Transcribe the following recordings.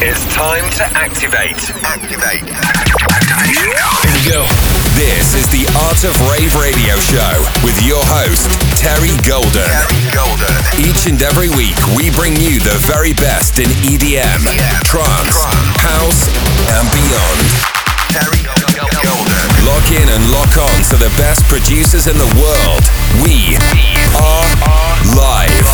It's time to activate. Activation code. Here we go. This is the Art of Rave radio show with your host, Terry Golden. Each and every week, we bring you the very best in EDM, trance, house, and beyond. Terry Golden. Lock in and lock on to the best producers in the world. We are live.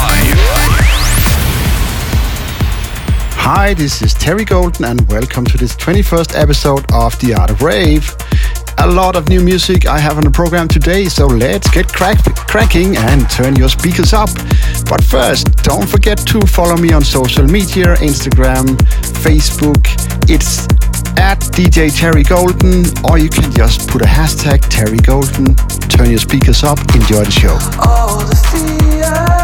Hi, this is Terry Golden and welcome to this 21st episode of The Art of Rave. A lot of new music I have on the program today, so let's get cracking and turn your speakers up. But first, don't forget to follow me on social media, Instagram, Facebook. It's at DJ Terry Golden, or you can just put a hashtag Terry Golden. Turn your speakers up, enjoy the show. All the fear.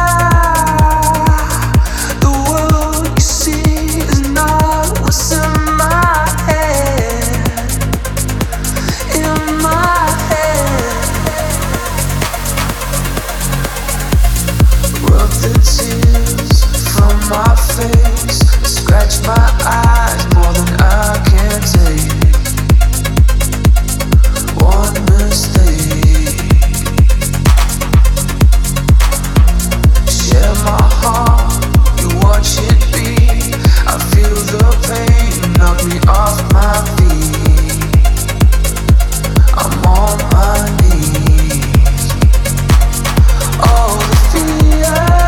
My face, scratch my eyes more than I can take. One mistake. Share my heart, you watch it beat. I feel the pain, knock me off my feet. I'm on my knees. All the fear.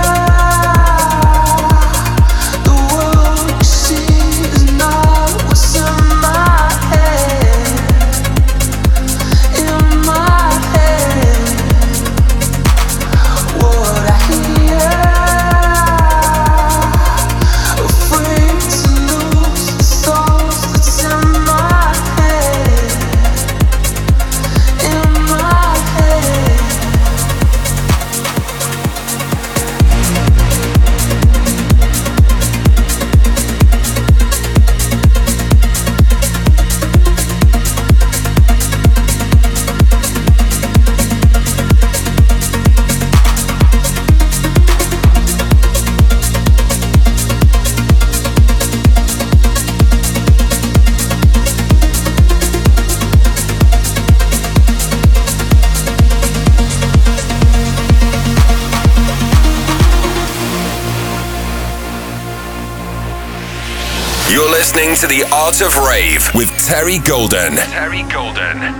Listening to The Art of Rave with Terry Golden. Terry Golden.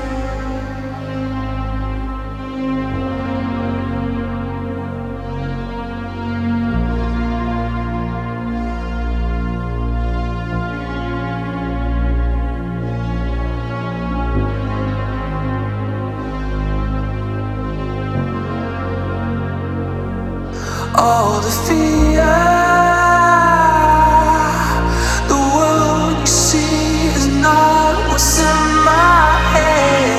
All the fear. What's in my head?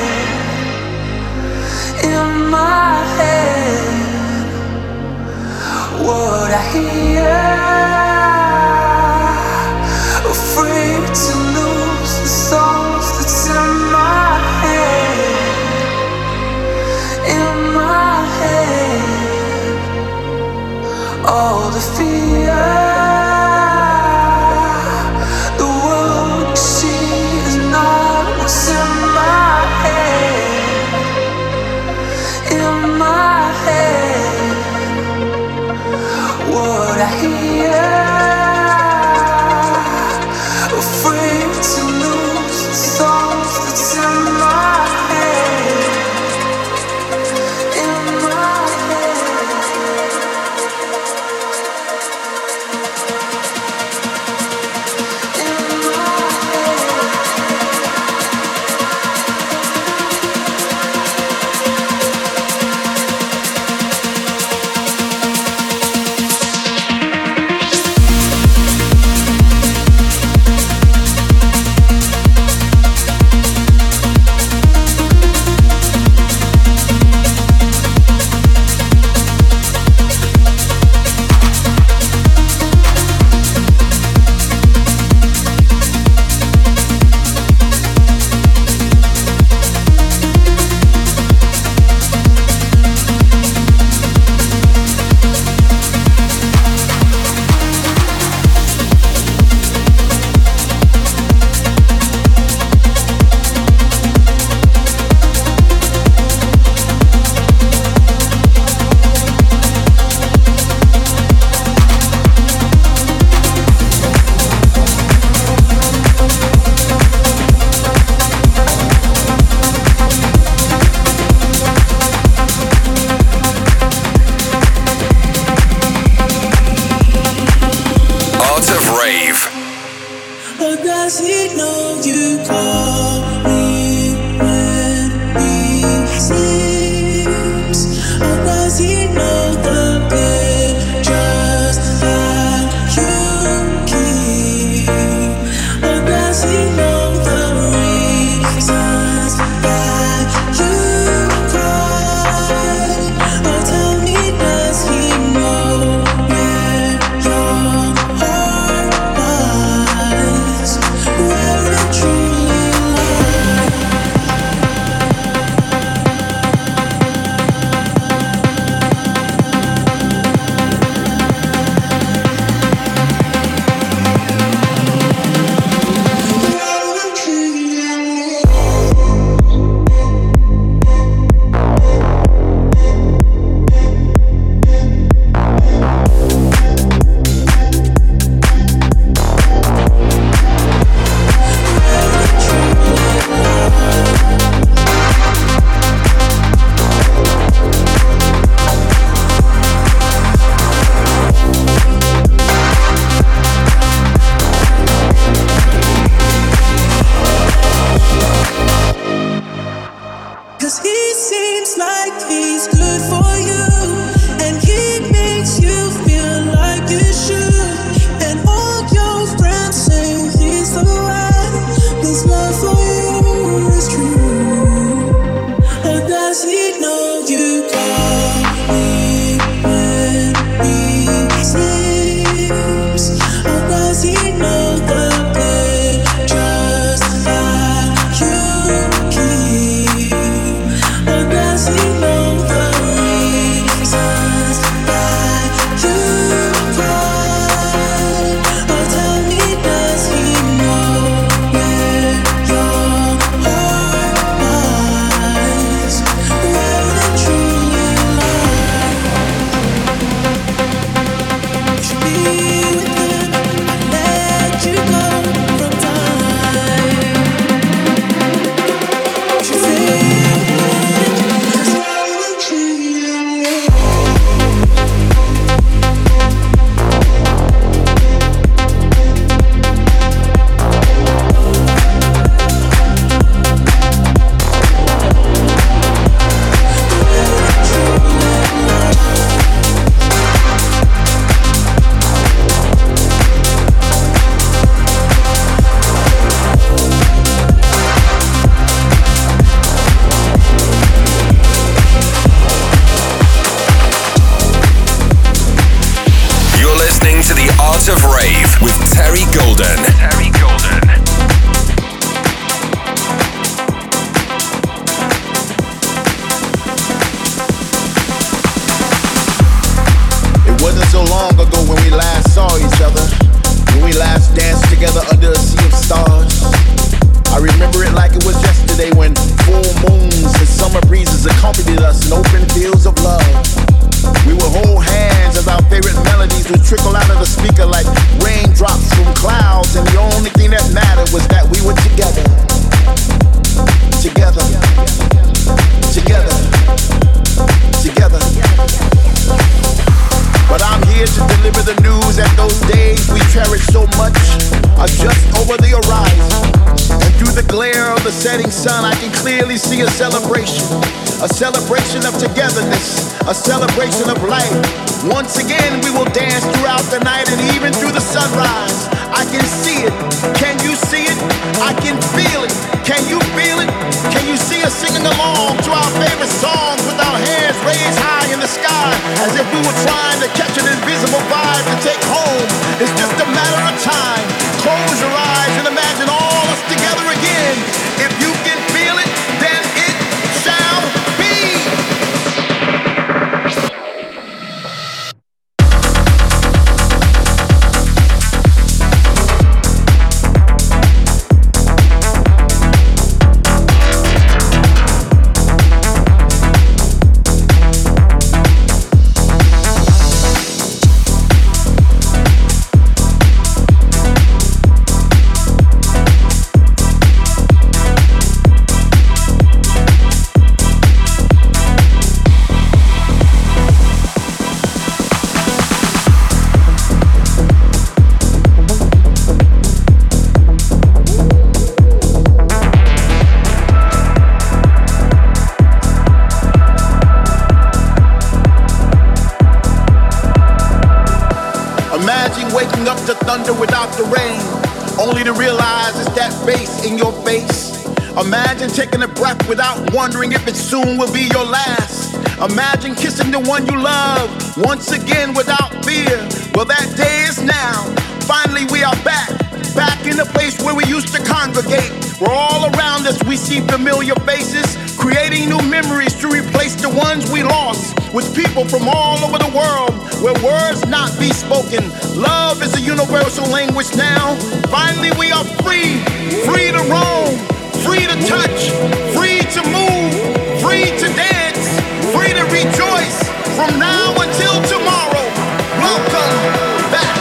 the thunder without the rain, only to realize it's that bass in your face. Imagine taking a breath without wondering if it soon will be your last. Imagine kissing the one you love once again without fear. Well, that day is now. Finally we are back in the place where we used to congregate. Where all around us we see familiar faces, creating new memories to replace the ones we lost. With people from all over the world, where words not be spoken. Love is a universal language now. Finally we are free, free to roam, free to touch, free to move, free to dance, free to rejoice from now until tomorrow. Welcome back.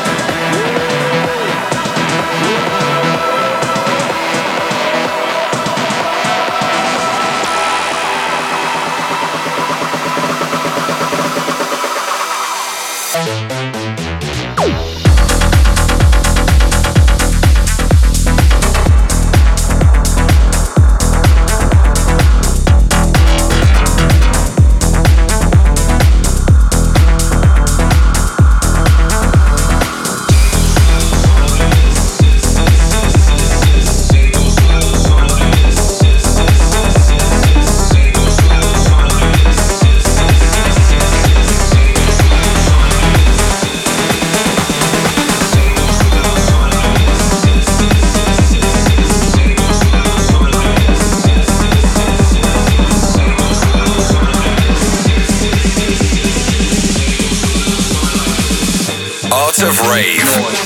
Of Rave.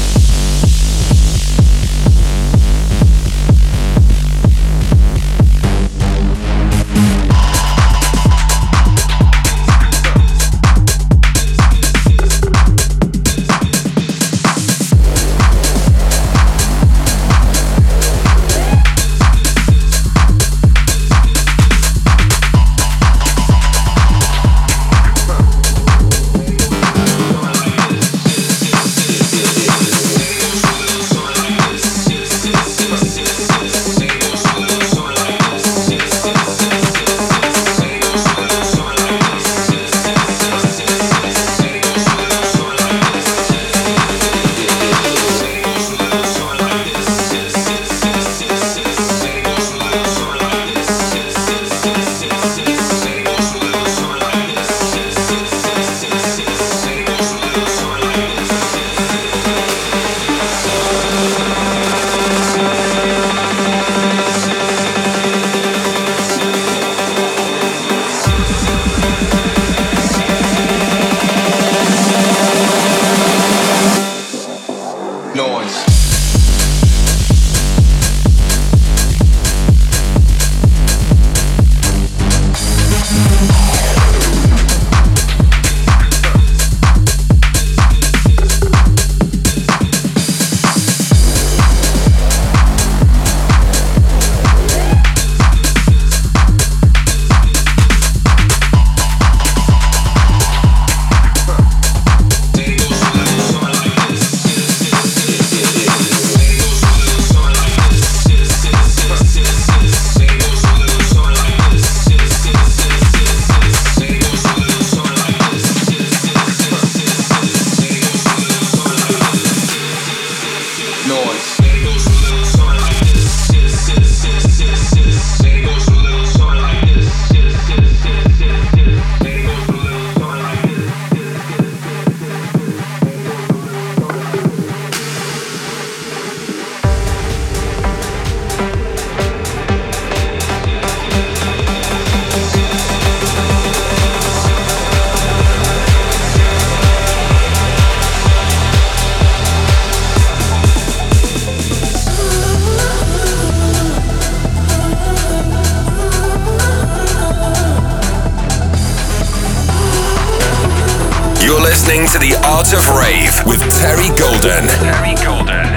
Listening to The Art of Rave with Terry Golden. Terry Golden.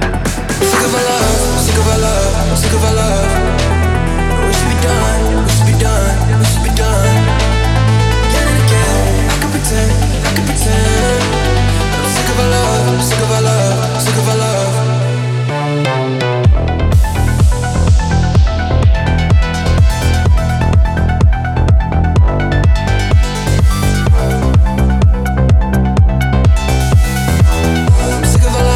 Sick of our love, sick of our love, sick of our love. We should be done, we should be done, we should be done. Again and again, I can pretend. But I'm sick of our love, sick of our love, sick of our love. Sick of our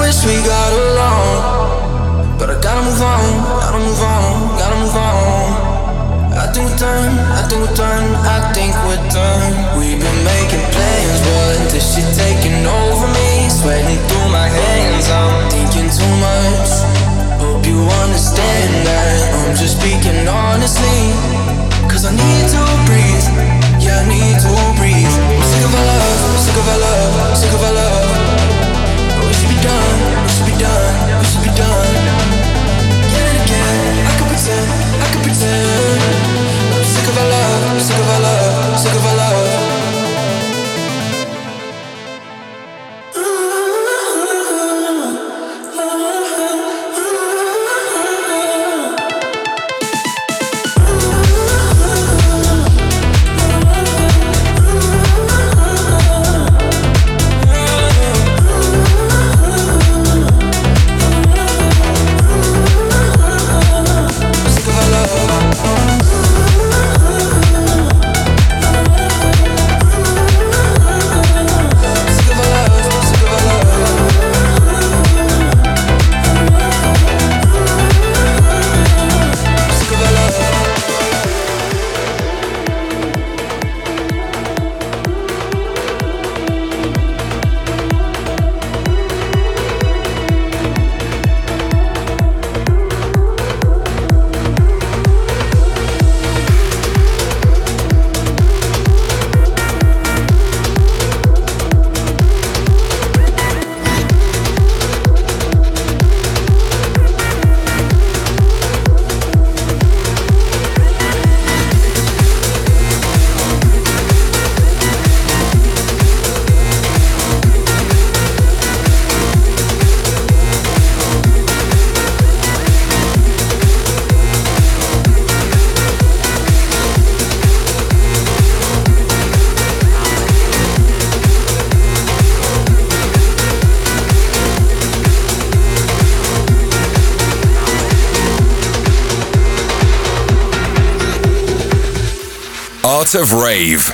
wish we got along, but I gotta move on, gotta move on, gotta move on. I think we're done, I think we're done, I think we're done. We've been making plans, but this shit taking over me, sweating through my hands. I'm thinking too much. Hope you understand that I'm just speaking honestly, cause I need to breathe. Yeah, I need to breathe. I'm sick of our love, sick of our love, sick of our love. But we should be done, we should be done, we should be done. Again and again, I could pretend, I could pretend. I'm sick of our love, sick of our love, sick of our love. Art of Rave.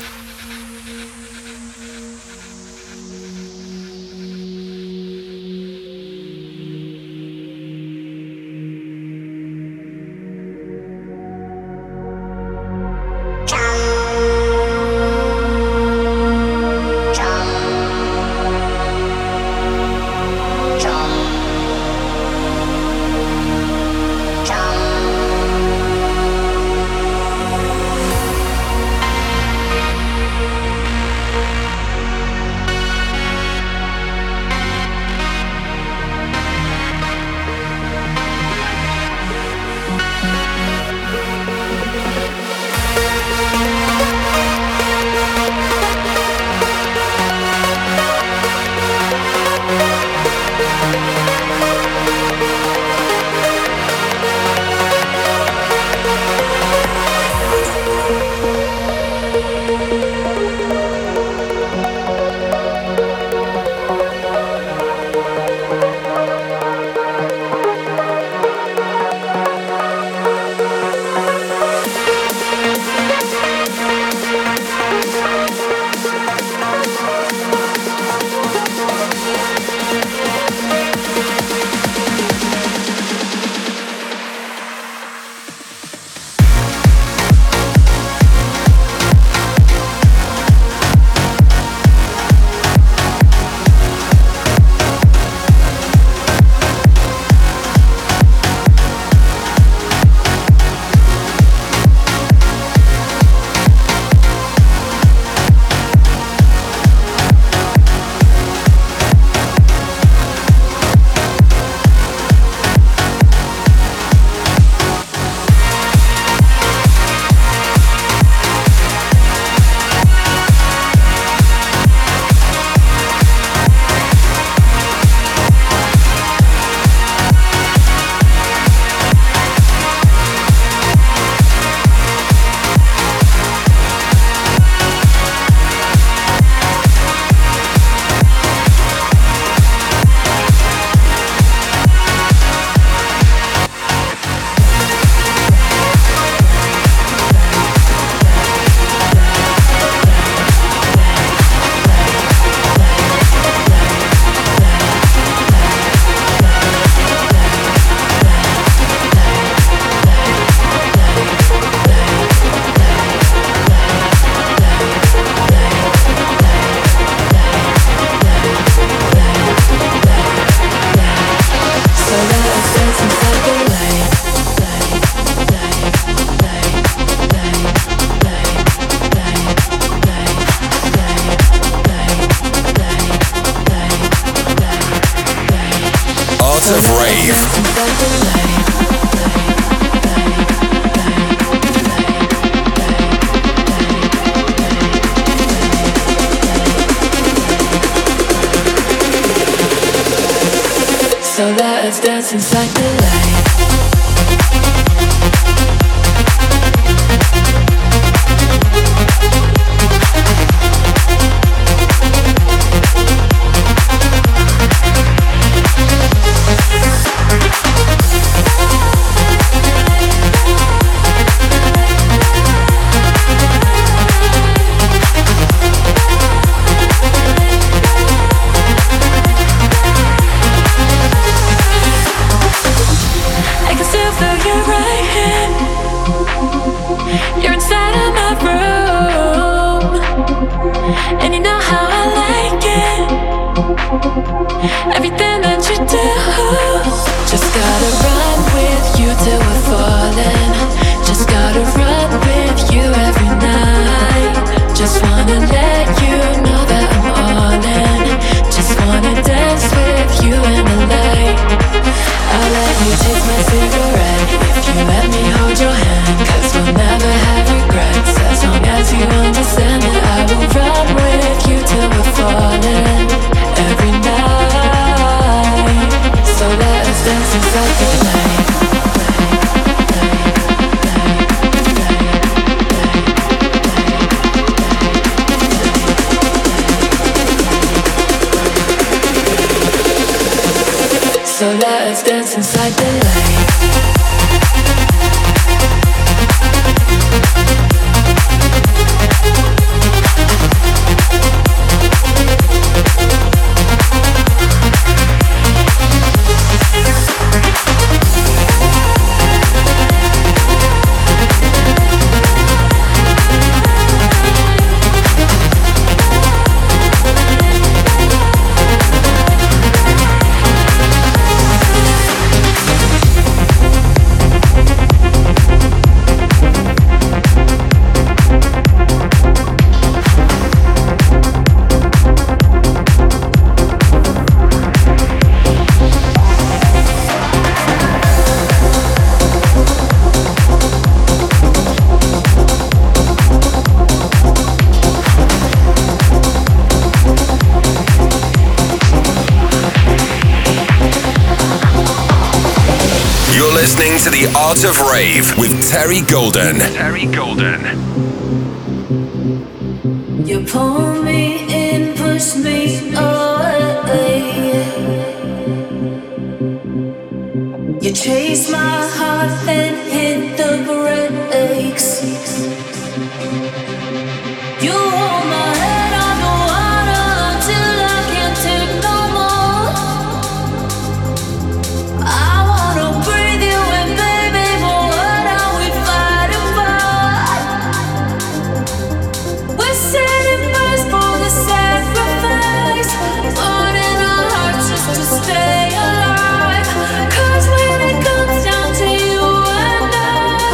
Art of Rave. So let's dance inside the light. Everything that you do, just gotta run with you till we're falling. Just gotta run with you every night. Just wanna let you know that I'm all in. Just wanna dance with you in the light. I'll let you take my cigarette if you let me hold your hand, 'cause we'll never have regrets as long as you understand that I will run with you till we're falling every night. So let's dance inside the light. So let's dance inside the light. Listening to the Art of Rave with Terry Golden. Terry Golden. You pull me in, push me away. You chase my heart and hit the brakes. You hold my head underwater until I can't take no more. I wanna breathe you in, baby, but what are we fighting for? We're setting first for the sacrifice, burning our hearts just to stay alive. 'Cause when it comes down to you and I,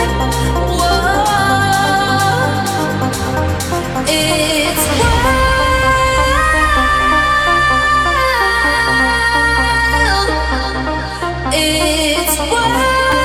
whoa, it's wild. It's wild.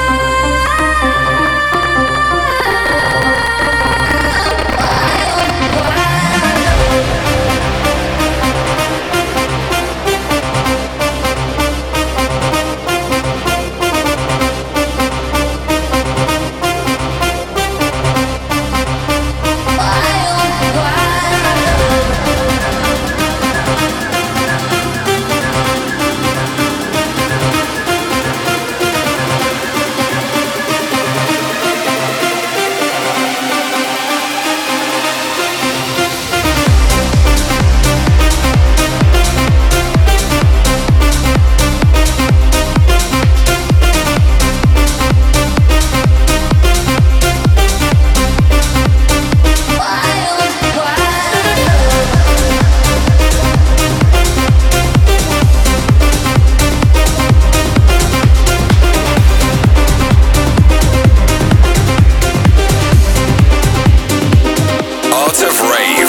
Art of Rave.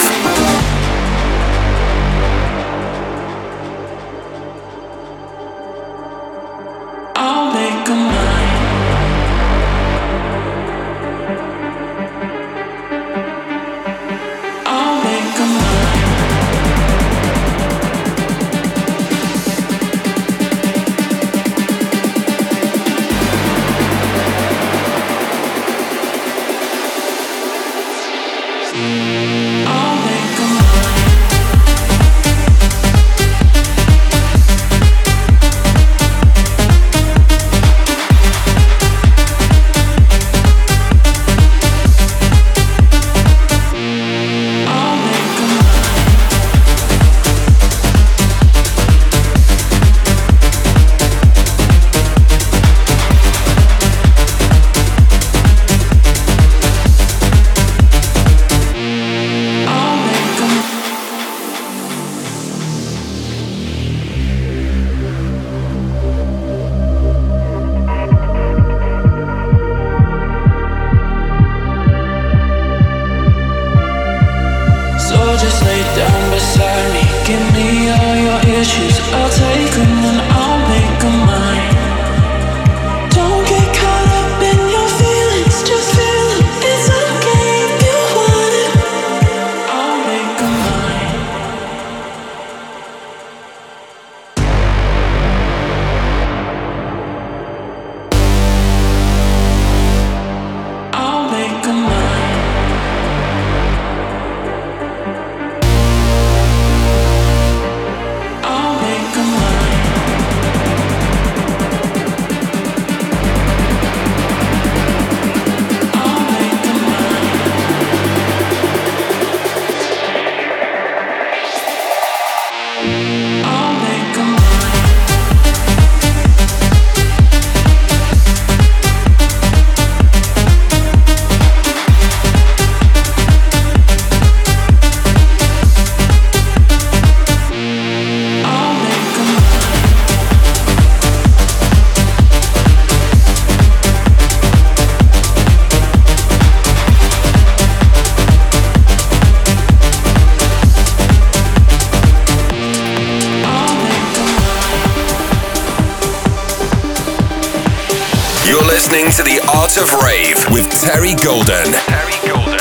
listening to The Art of Rave with Terry Golden. Terry Golden.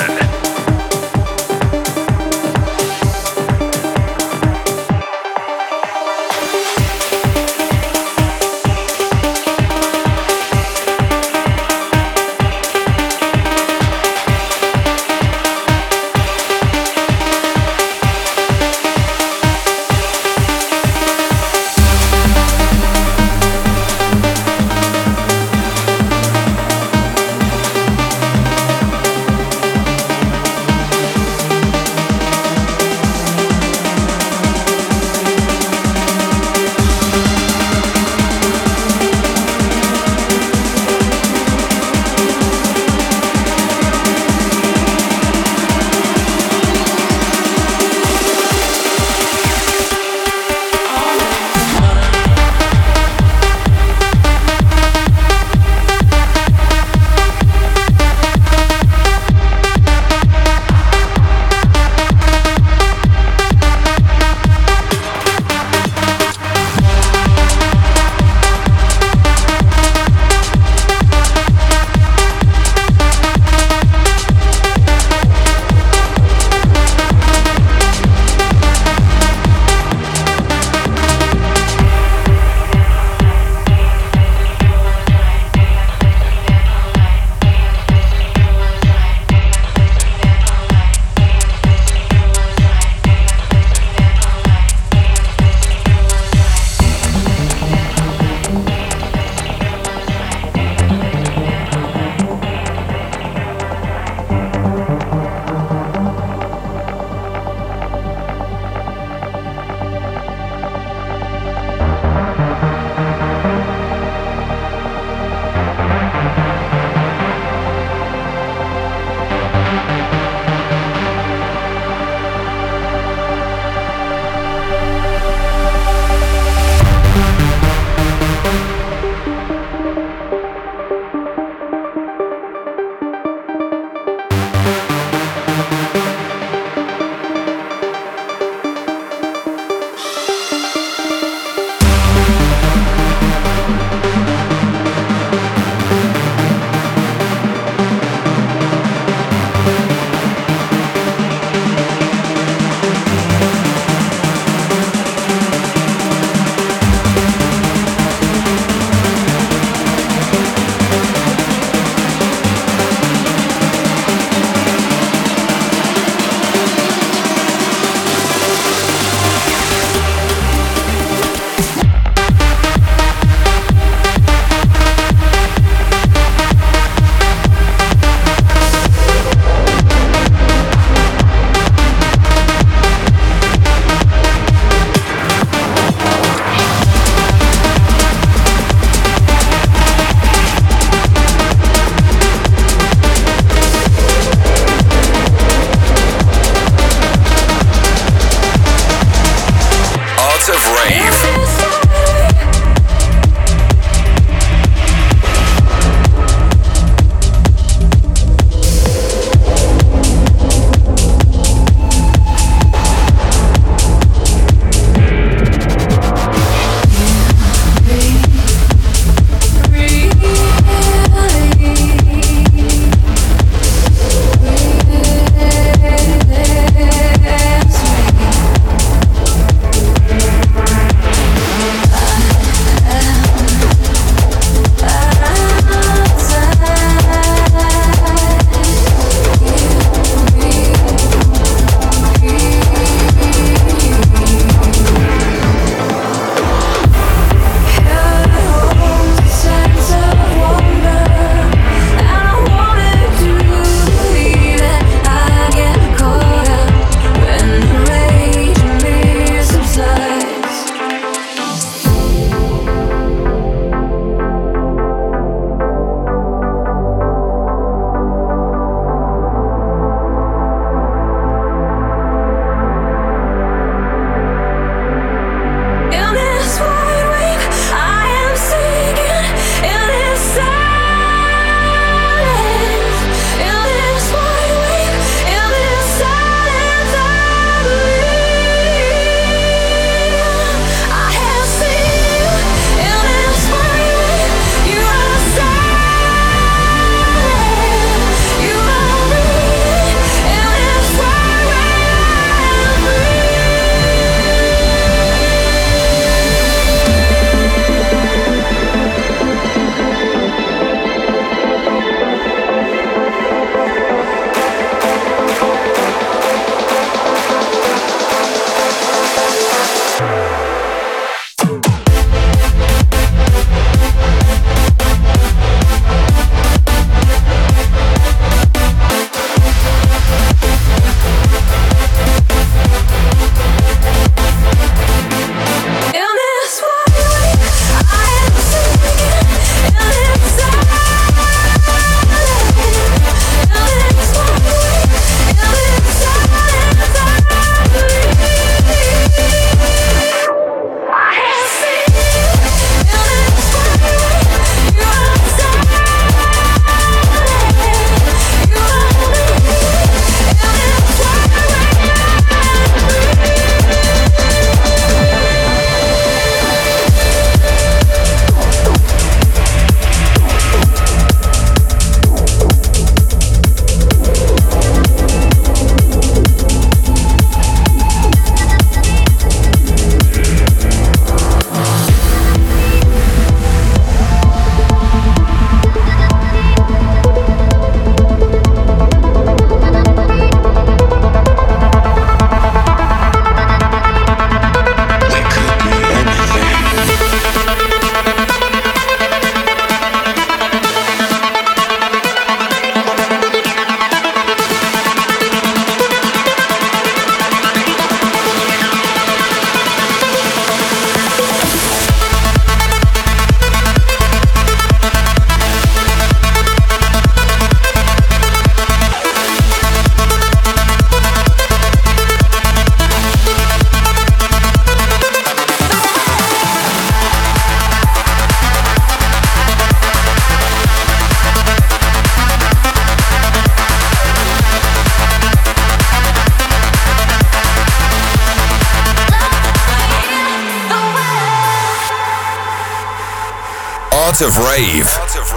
Art of Rave.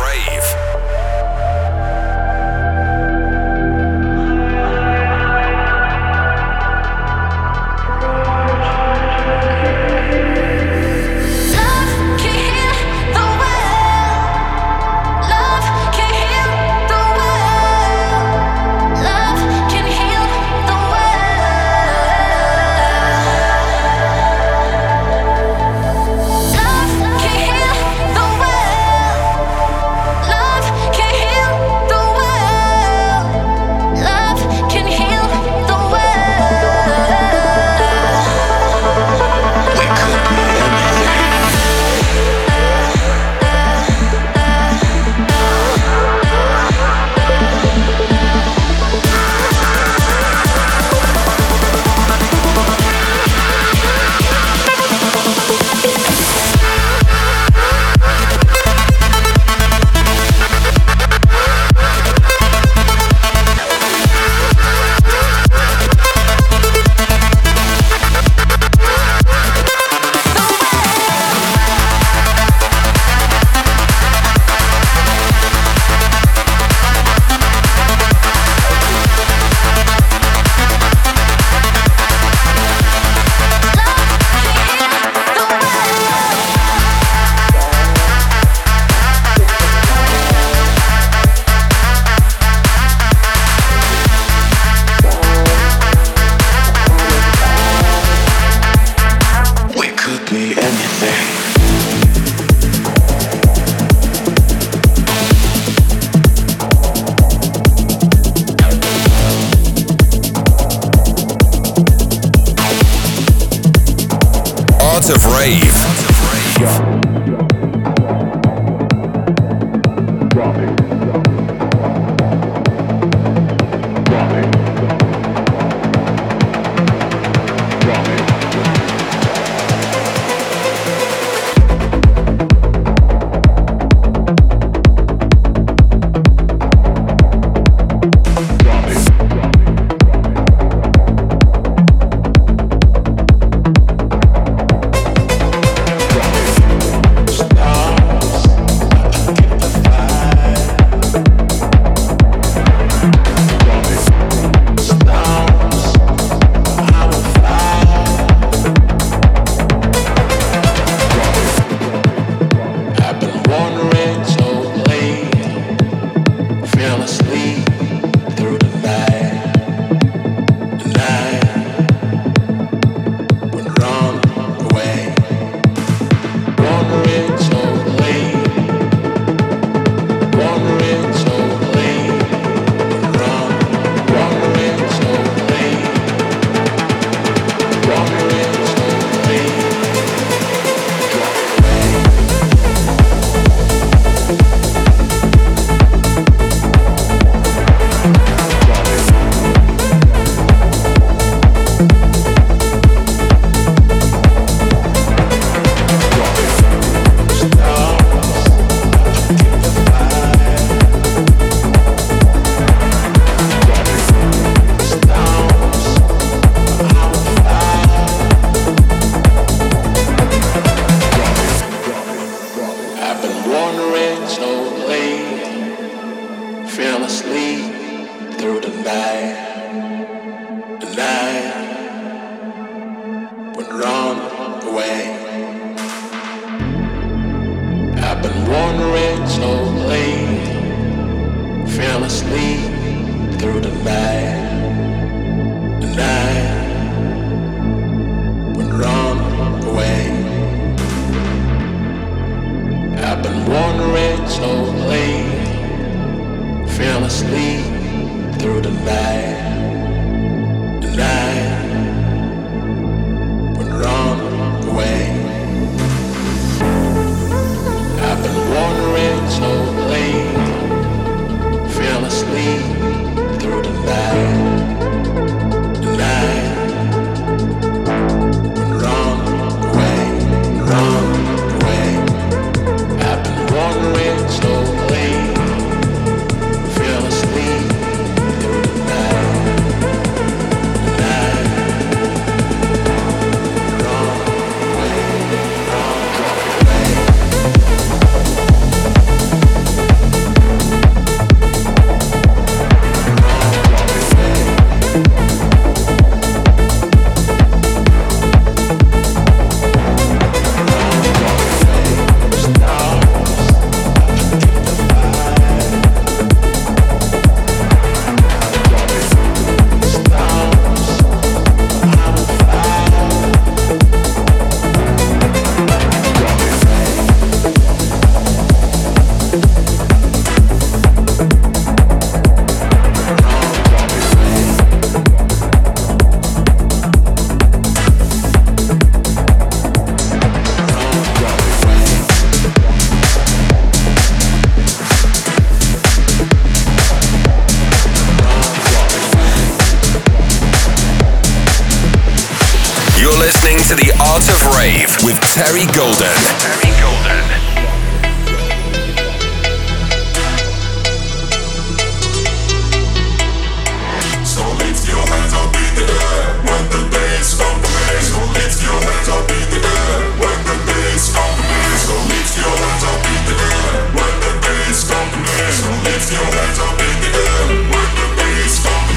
Of Rave. Through the night to the Art of Rave with Terry Golden. Terry Golden. So lift your hands up in the air when the bass comes to me. So lift your hands up in the air when the bass comes to me. So lift your hands up in the air when the bass comes to me. So lift your hands up in the air when the bass comes to me.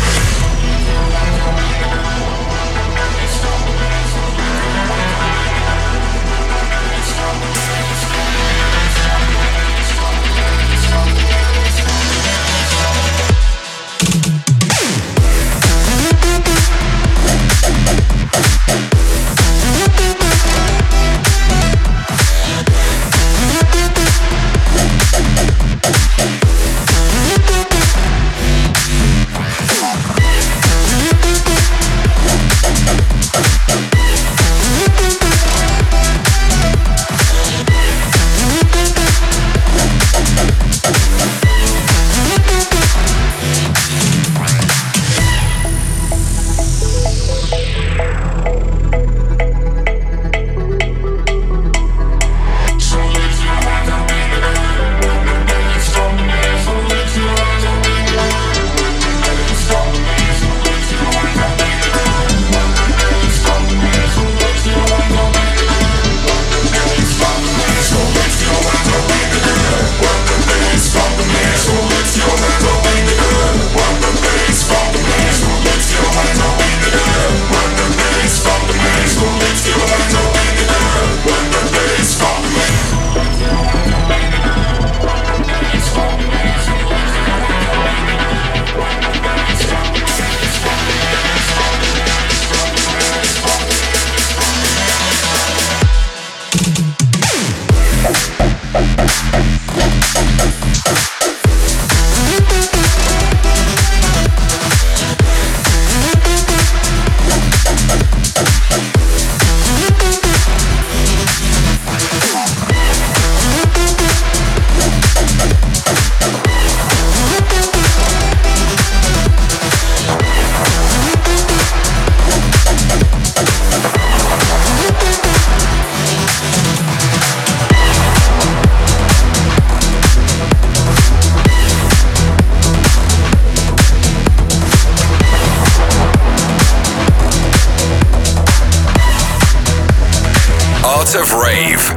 Of Rave.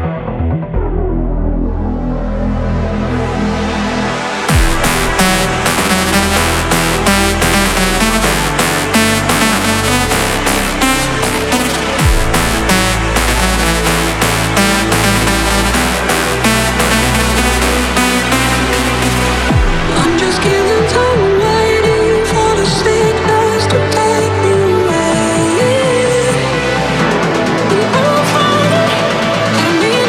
Me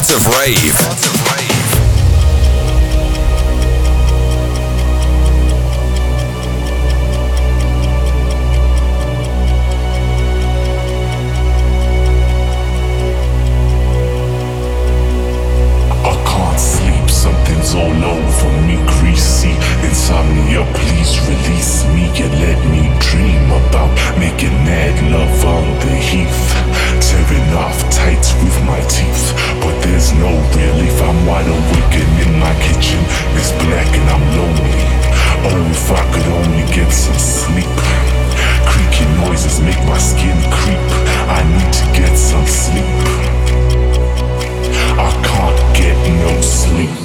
Art of Rave. Something's all over me, greasy. Insomnia, please release me and let me dream about making mad love on the heath, tearing off tights with my teeth. But there's no relief, I'm wide awake and in my kitchen it's black and I'm lonely. Oh, if I could only get some sleep. Creaky noises make my skin creep. I need to get some sleep. I can't get no sleep.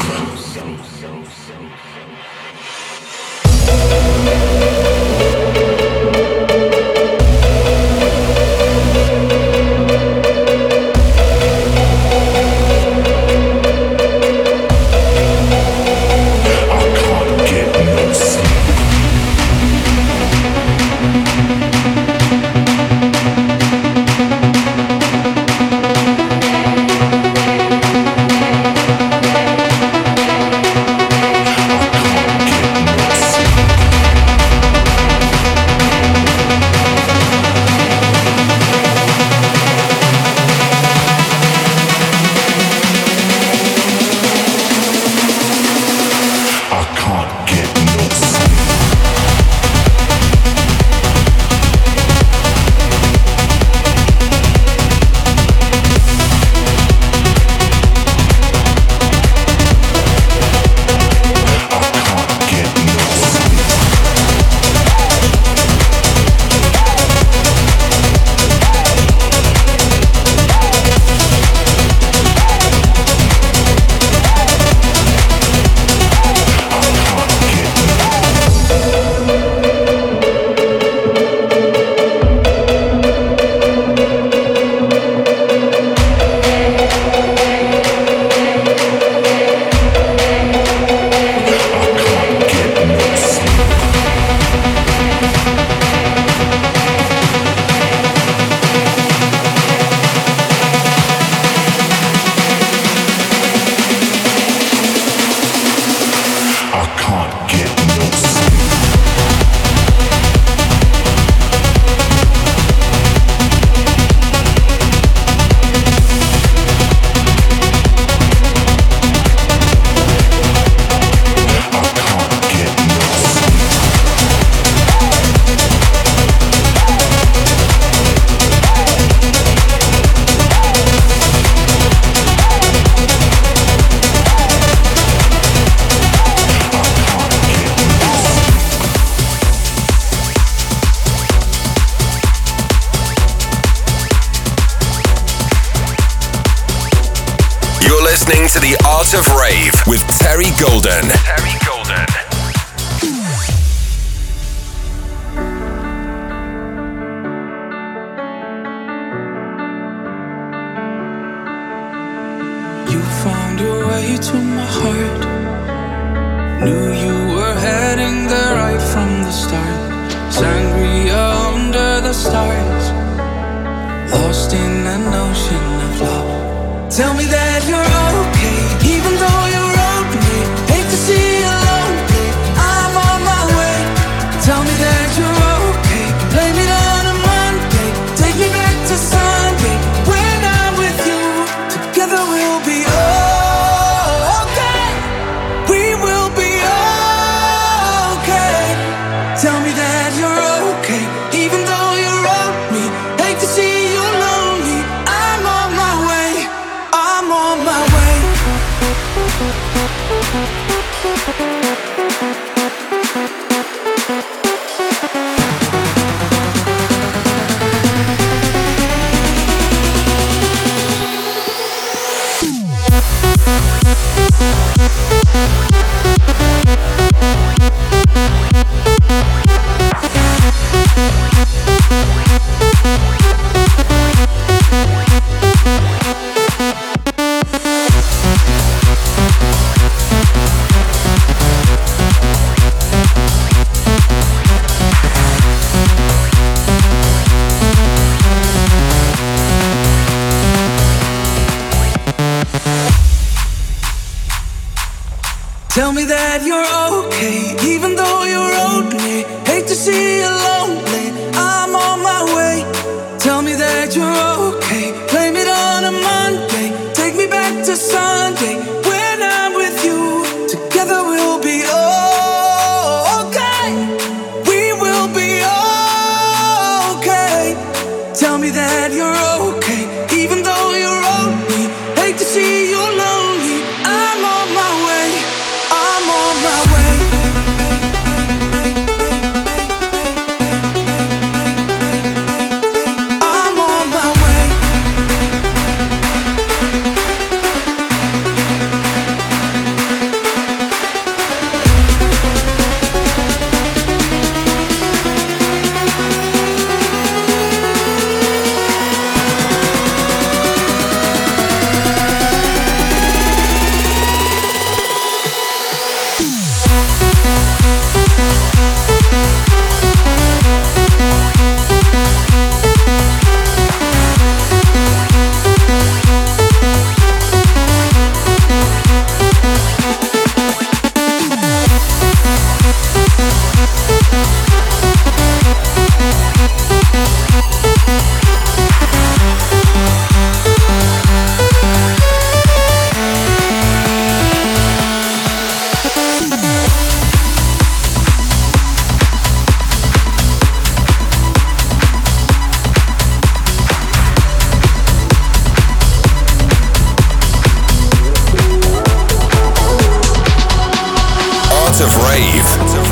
Listening to the Art of Rave with Terry Golden. Terry Golden. You found your way to my heart. Knew you were heading there right from the start. Sangria under the stars, lost in an ocean of love. Tell me that you're okay, even though you wrote me. Hate to see you lonely, I'm on my way. Tell me that you're okay, blame it on a Monday. Take me back to Sunday, when I'm with you. Together we'll be okay. We will be okay. Tell me that you're okay, even though you wrote me. Hate to see you lonely, I'm on my way. I'm on my way. Tell me that you're okay, even though you're lonely. Hate to see you lonely, I'm on my way. Tell me that you're okay, blame it on a Monday. Take me back to Sunday, when I'm with you. Together we'll be okay. We will be okay. Tell me that you're okay, even though you're lonely. Hate to see you lonely, I'm on my way. I'm on my way. I'm on my way. of Rave.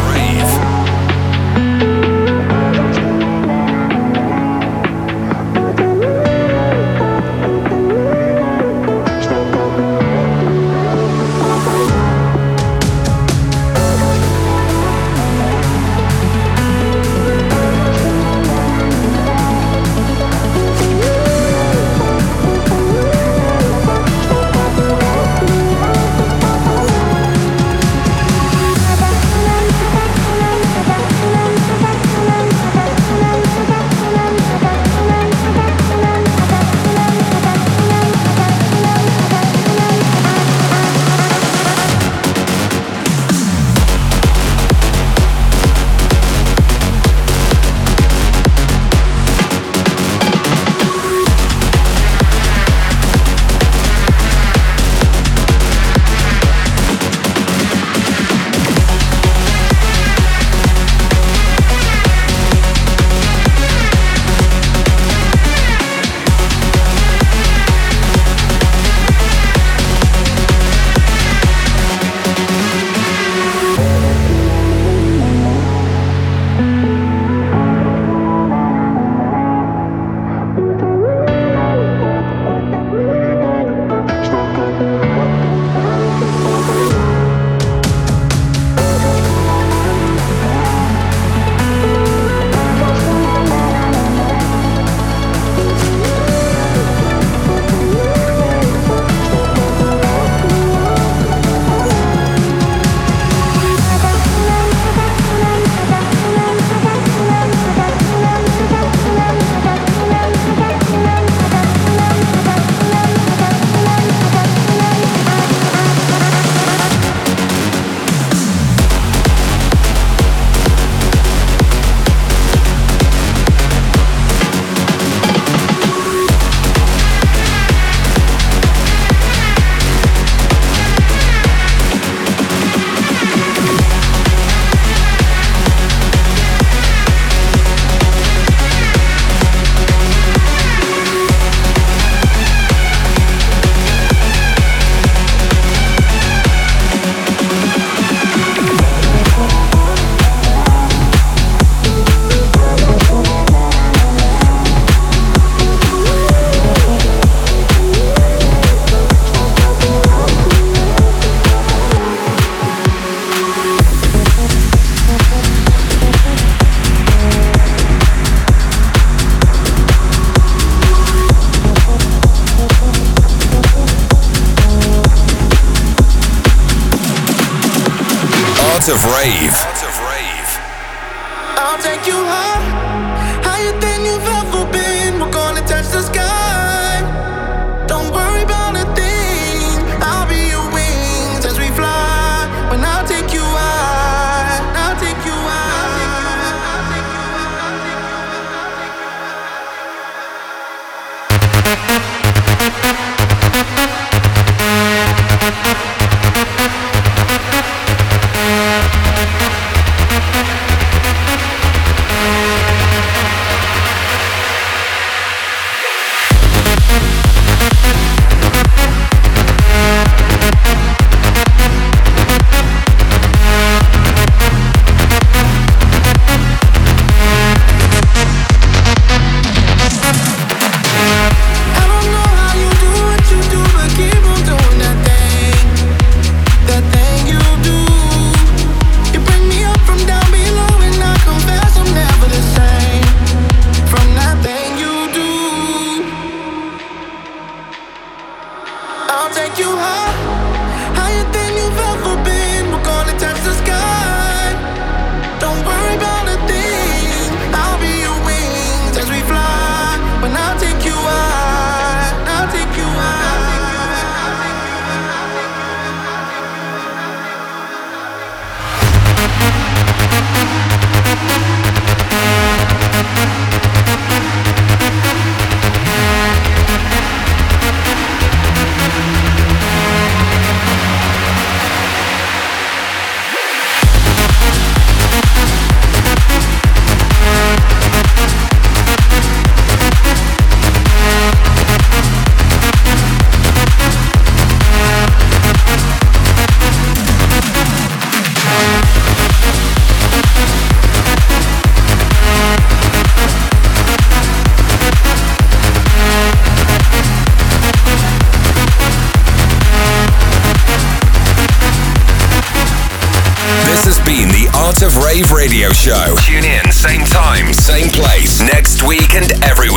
Of Rave. I'll take you higher than you've ever been. We're gonna touch the sky. Don't worry about a thing. I'll be your wings as we fly. When I Rave Radio Show. Tune in, same time, same place, next week and every